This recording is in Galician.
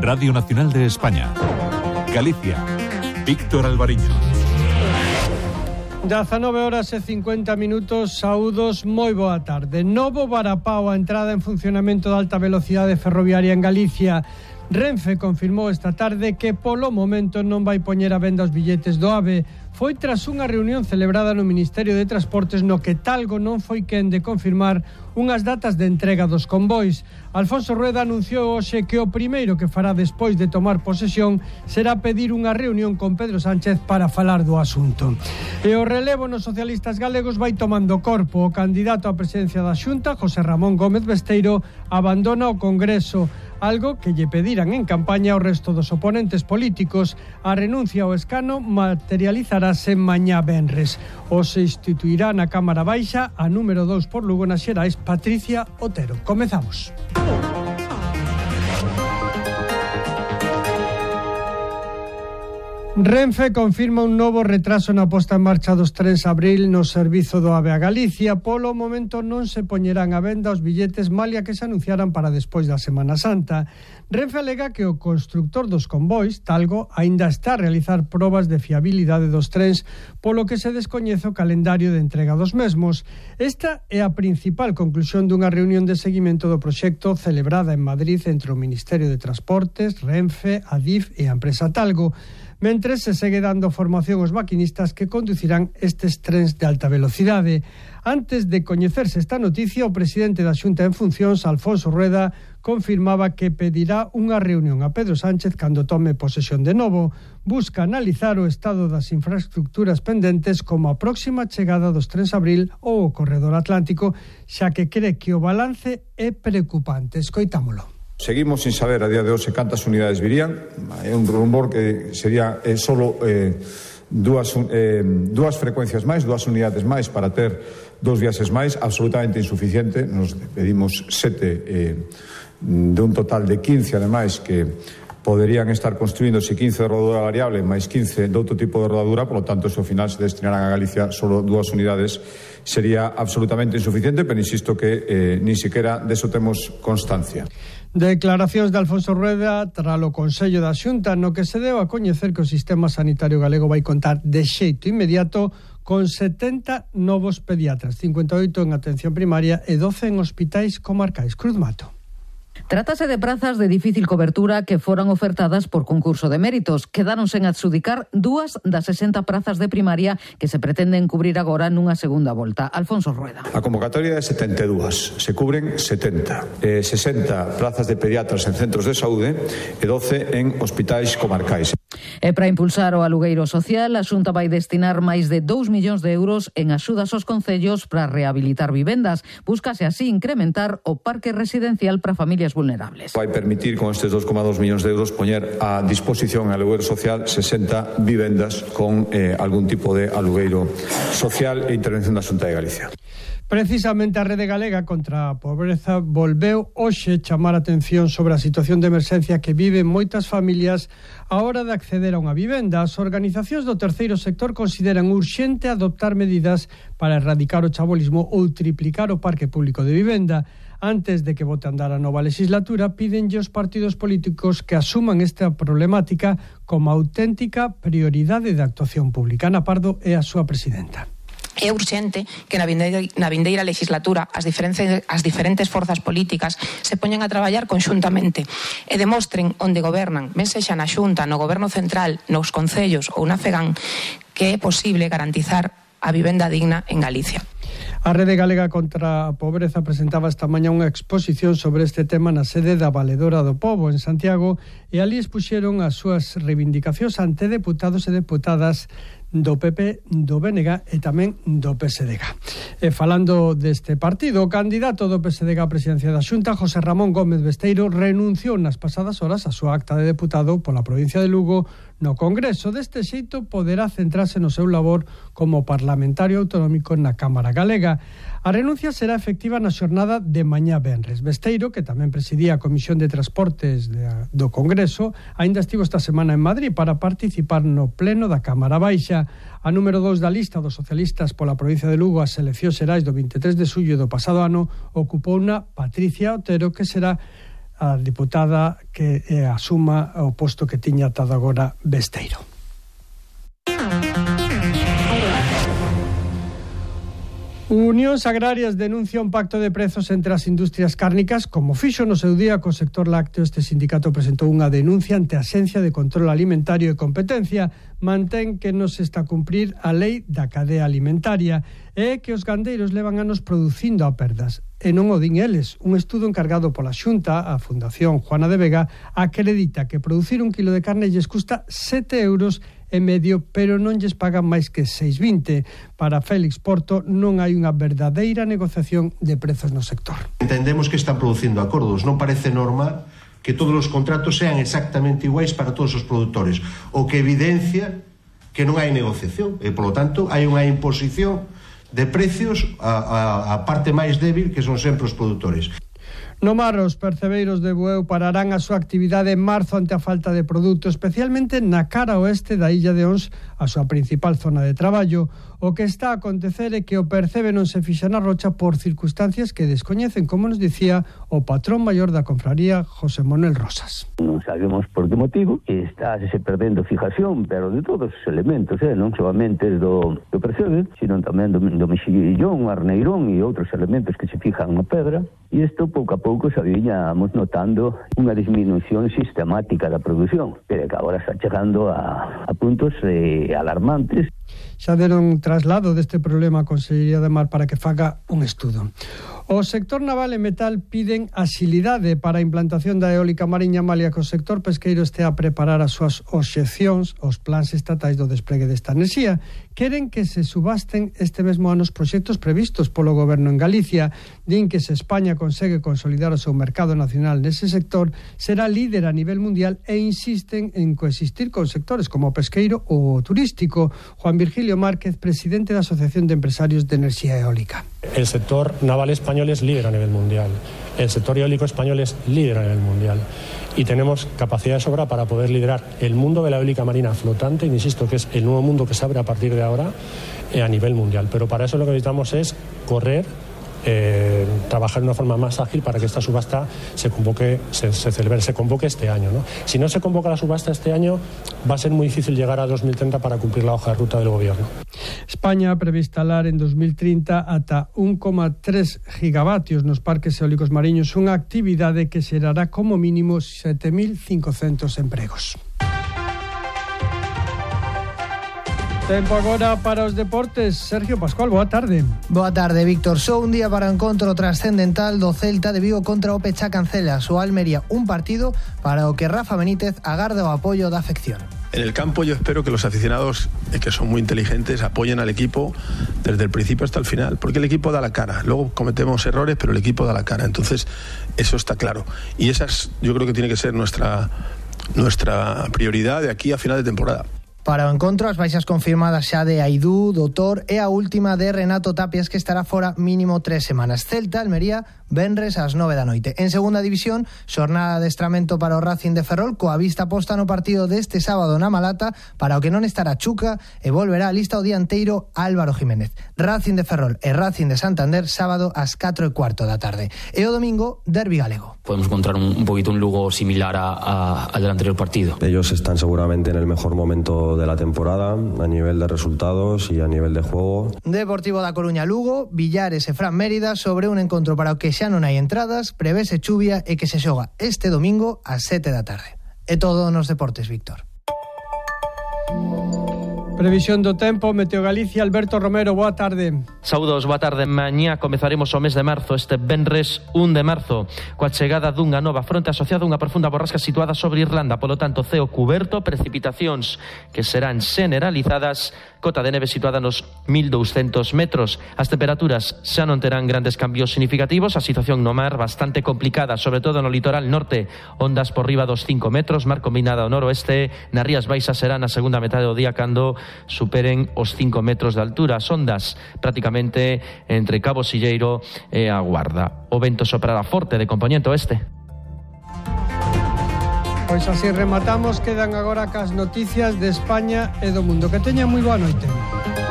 Radio Nacional de España. Galicia. Víctor Alvariño. 19:50. Saúdos, moi boa tarde. Novo varapao a entrada en funcionamento da alta velocidade ferroviaria en Galicia. Renfe confirmou esta tarde que polo momento non vai poñer a venda os billetes do AVE. Foi tras unha reunión celebrada no Ministerio de Transportes no que Talgo non foi quen de confirmar unhas datas de entrega dos convois. Alfonso Rueda anunciou hoxe que o primeiro que fará despois de tomar posesión será pedir unha reunión con Pedro Sánchez para falar do asunto. E o relevo nos socialistas galegos vai tomando corpo. O candidato á presidencia da Xunta, José Ramón Gómez Besteiro, abandona o Congreso, algo que lle pediran en campaña ao resto dos oponentes políticos. A renuncia ao escano materializarase mañá venres. O se instituirá na Cámara Baixa a número 2 por Lugo nas Xerais, Patricia Otero. Comezamos. Renfe confirma un novo retraso na posta en marcha dos trens Abril no servizo do AVE a Galicia. Polo momento non se poñerán a venda os billetes malia que se anunciaran para despois da Semana Santa. Renfe alega que o constructor dos convois, Talgo, aínda está a realizar probas de fiabilidade dos trens, polo que se descoñece o calendario de entrega dos mesmos. Esta é a principal conclusión dunha reunión de seguimento do proxecto celebrada en Madrid entre o Ministerio de Transportes, Renfe, Adif e a empresa Talgo. Mentres se segue dando formación aos maquinistas que conducirán estes trens de alta velocidade. Antes de coñecerse esta noticia, o presidente da Xunta en funcións, Alfonso Rueda, confirmaba que pedirá unha reunión a Pedro Sánchez cando tome posesión de novo. Busca analizar o estado das infraestructuras pendentes como a próxima chegada dos trens Abril ou o corredor atlántico, xa que cree que o balance é preocupante. Escoitámolo. Seguimos sin saber a día de hoxe cantas unidades virían. É un rumor que sería solo dúas frecuencias máis, 2 unidades máis para ter 2 viaxes máis, absolutamente insuficiente. Nos pedimos 7 de un total de 15, ademais, que poderían estar construíndose 15 de rodadura variable máis 15 de outro tipo de rodadura, por lo tanto, se ao final se destinaran a Galicia solo 2 unidades, sería absolutamente insuficiente, pero insisto que ni siquiera deso temos constancia. Declaracións de Alfonso Rueda tras o Consello da Xunta, no que se deu a coñecer que o sistema sanitario galego vai contar de xeito inmediato con 70 novos pediatras, 58 en atención primaria e 12 en hospitais comarcais. Cruz Mato. Trátase de prazas de difícil cobertura que foran ofertadas por concurso de méritos. Quedaron sen adxudicar 2 das 60 prazas de primaria que se pretenden cubrir agora nunha segunda volta. Alfonso Rueda. A convocatoria é 72, se cubren 70. 60 plazas de pediatras en centros de saúde e 12 en hospitais comarcais. E para impulsar o alugueiro social, a Xunta vai destinar máis de 2 millóns de euros en axudas aos concellos para rehabilitar vivendas. Búscase así incrementar o parque residencial para familias vulnerables. Vai permitir con estes 2,2 millóns de euros poñer a disposición en alugueiro social 60 vivendas con algún tipo de alugueiro social e intervención da Xunta de Galicia. Precisamente a Rede Galega contra a Pobreza volveu hoxe chamar a atención sobre a situación de emerxencia que viven moitas familias a hora de acceder a unha vivenda. As organizacións do terceiro sector consideran urxente adoptar medidas para erradicar o chabolismo ou triplicar o parque público de vivenda. Antes de que vote a andar a nova legislatura, pídenlle aos partidos políticos que asuman esta problemática como auténtica prioridade de actuación pública. Ana Pardo é a súa presidenta. É urxente que na vindeira legislatura as diferentes forzas políticas se poñan a traballar conxuntamente e demostren onde gobernan, ben sexa na Xunta, no Goberno Central, nos concellos ou na FEGAN, que é posible garantizar a vivenda digna en Galicia. A Rede Galega contra a Pobreza presentaba esta mañá unha exposición sobre este tema na sede da Valedora do Pobo, en Santiago, e ali expuxeron as súas reivindicacións ante deputados e deputadas do PP, do BNG e tamén do PSDG. E falando deste partido, o candidato do PSDG á presidencia da Xunta, José Ramón Gómez Besteiro, renunciou nas pasadas horas a súa acta de deputado pola provincia de Lugo no Congreso. Deste xeito poderá centrarse no seu labor como parlamentario autonómico na Cámara Galega. A renuncia será efectiva na xornada de mañá venres. Besteiro, que tamén presidía a Comisión de Transportes do Congreso, aínda estivo esta semana en Madrid para participar no pleno da Cámara Baixa. A número 2 da lista dos socialistas pola provincia de Lugo ás eleccións xerais do 23 de xullo do pasado ano ocupou unha Patricia Otero, que será a diputada que asuma o posto que tiña atado agora Besteiro. Unións Agrarias denuncia un pacto de prezos entre as industrias cárnicas, como fixo no seu día co sector lácteo. Este sindicato presentou unha denuncia ante a Axencia de Control Alimentario e Competencia. Mantén que non se está a cumprir a lei da cadea alimentaria e que os gandeiros levan anos producindo a perdas. E non o din eles. Un estudo encargado pola Xunta, a Fundación Juana de Vega, acredita que producir un kilo de carne lles custa 7,5 €, pero non lles pagan máis que 6,20. Para Félix Porto non hai unha verdadeira negociación de prezos no sector. Entendemos que están producindo acordos. Non parece normal que todos os contratos sean exactamente iguais para todos os produtores, o que evidencia que non hai negociación e, polo tanto, hai unha imposición de precios a parte máis débil, que son sempre os produtores. No mar, os percebeiros de Bueu pararán a súa actividade en marzo ante a falta de produto, especialmente na cara oeste da illa de Ons, a súa principal zona de traballo. O que está a acontecer é que o percebe non se fixa na rocha por circunstancias que descoñecen, como nos dicía o patrón maior da confraría, José Manuel Rosas. Non sabemos por que motivo, está se perdendo fijación, pero de todos os elementos, non solamente do percebe, sino tamén do mexillón, arneirón e outros elementos que se fijan na pedra, e isto pouco a pouco xa viñamos notando unha disminución sistemática da produción, pero que agora está chegando a puntos alarmantes. Xa deron traslado deste problema a Consellería de Mar para que faga un estudo. O sector naval e metal piden axilidade para a implantación da eólica mariña, malia que o sector pesqueiro este a preparar as súas obxeccións aos plans estatais do despregue desta enerxía. Queren que se subasten este mesmo ano os proxectos previstos polo goberno en Galicia. Din que se España consegue consolidar o seu mercado nacional nese sector, será líder a nivel mundial e insisten en coexistir con sectores como o pesqueiro ou o turístico. Juan Virgilio Márquez, presidente da Asociación de Empresarios de Enerxía Eólica. El sector naval español es líder a nivel mundial. El sector eólico español es líder a nivel mundial. Y tenemos capacidad de sobra para poder liderar el mundo de la eólica marina flotante, insisto, que es el nuevo mundo que se abre a partir de ahora a nivel mundial. Pero para eso lo que necesitamos es correr, trabajar de una forma más ágil para que esta subasta se convoque este año, ¿no? Si no se convoca la subasta este año, va a ser muy difícil llegar a 2030 para cumplir la hoja de ruta del gobierno. España prevé instalar en 2030 ata 1,3 gigavatios nos parques eólicos mariños, unha actividade que xerará como mínimo 7.500 empregos. Tempo agora para os deportes. Sergio Pascual, boa tarde. Boa tarde, Víctor. Só un día para o encontro trascendental do Celta de Vigo contra o Pecha Cancela. O Almería, un partido para o que Rafa Benítez agarda o apoio da afección. En el campo yo espero que los aficionados, que son muy inteligentes, apoyen al equipo desde el principio hasta el final, porque el equipo da la cara. Luego cometemos errores, pero el equipo da la cara. Entonces, eso está claro. Y esa yo creo que tiene que ser nuestra prioridad de aquí a final de temporada. Para o encontro, as baixas confirmadas xa de Aidú, Doutor e a última de Renato Tapias, que estará fora mínimo 3 semanas. Celta, Almería, venres ás 9 da noite. En segunda división, xornada de adestramento para o Racing de Ferrol, coa vista posta no partido deste sábado na Malata, para o que non estará Chuca e volverá a lista o dianteiro Álvaro Jiménez. Racing de Ferrol e Racing de Santander, sábado ás 4:15 da tarde. E o domingo, derbi galego. Podemos encontrar un poquito un Lugo similar al del anterior partido. Ellos están seguramente en el mejor momento de la temporada a nivel de resultados y a nivel de juego. Deportivo da Coruña Lugo, Villares e Fran Mérida sobre un encontro para o que xa non hai entradas, prevese chuvia e que se xoga este domingo ás 7 da tarde. É todo nos deportes, Víctor. Previsión do tempo, Meteo Galicia, Alberto Romero, boa tarde. Saúdos, boa tarde. Mañá comezaremos o mes de marzo, este venres 1 de marzo, coa chegada dunha nova fronte asociada a unha profunda borrasca situada sobre Irlanda, polo tanto, ceo cuberto, precipitacións que serán generalizadas, cota de neve situada nos 1.200 metros. As temperaturas xa non terán grandes cambios significativos, a situación no mar bastante complicada, sobre todo no litoral norte, ondas por riba dos 5 metros, mar combinada ao noroeste, nas Rías Baixas será na segunda metade do día cando superen os 5 metros de altura, as ondas prácticamente entre Cabo Silleiro e a Guarda. O vento soprará forte de compoñente oeste. Pois así rematamos, quedan agora cas noticias de España e do mundo. Que teña moi boa noite.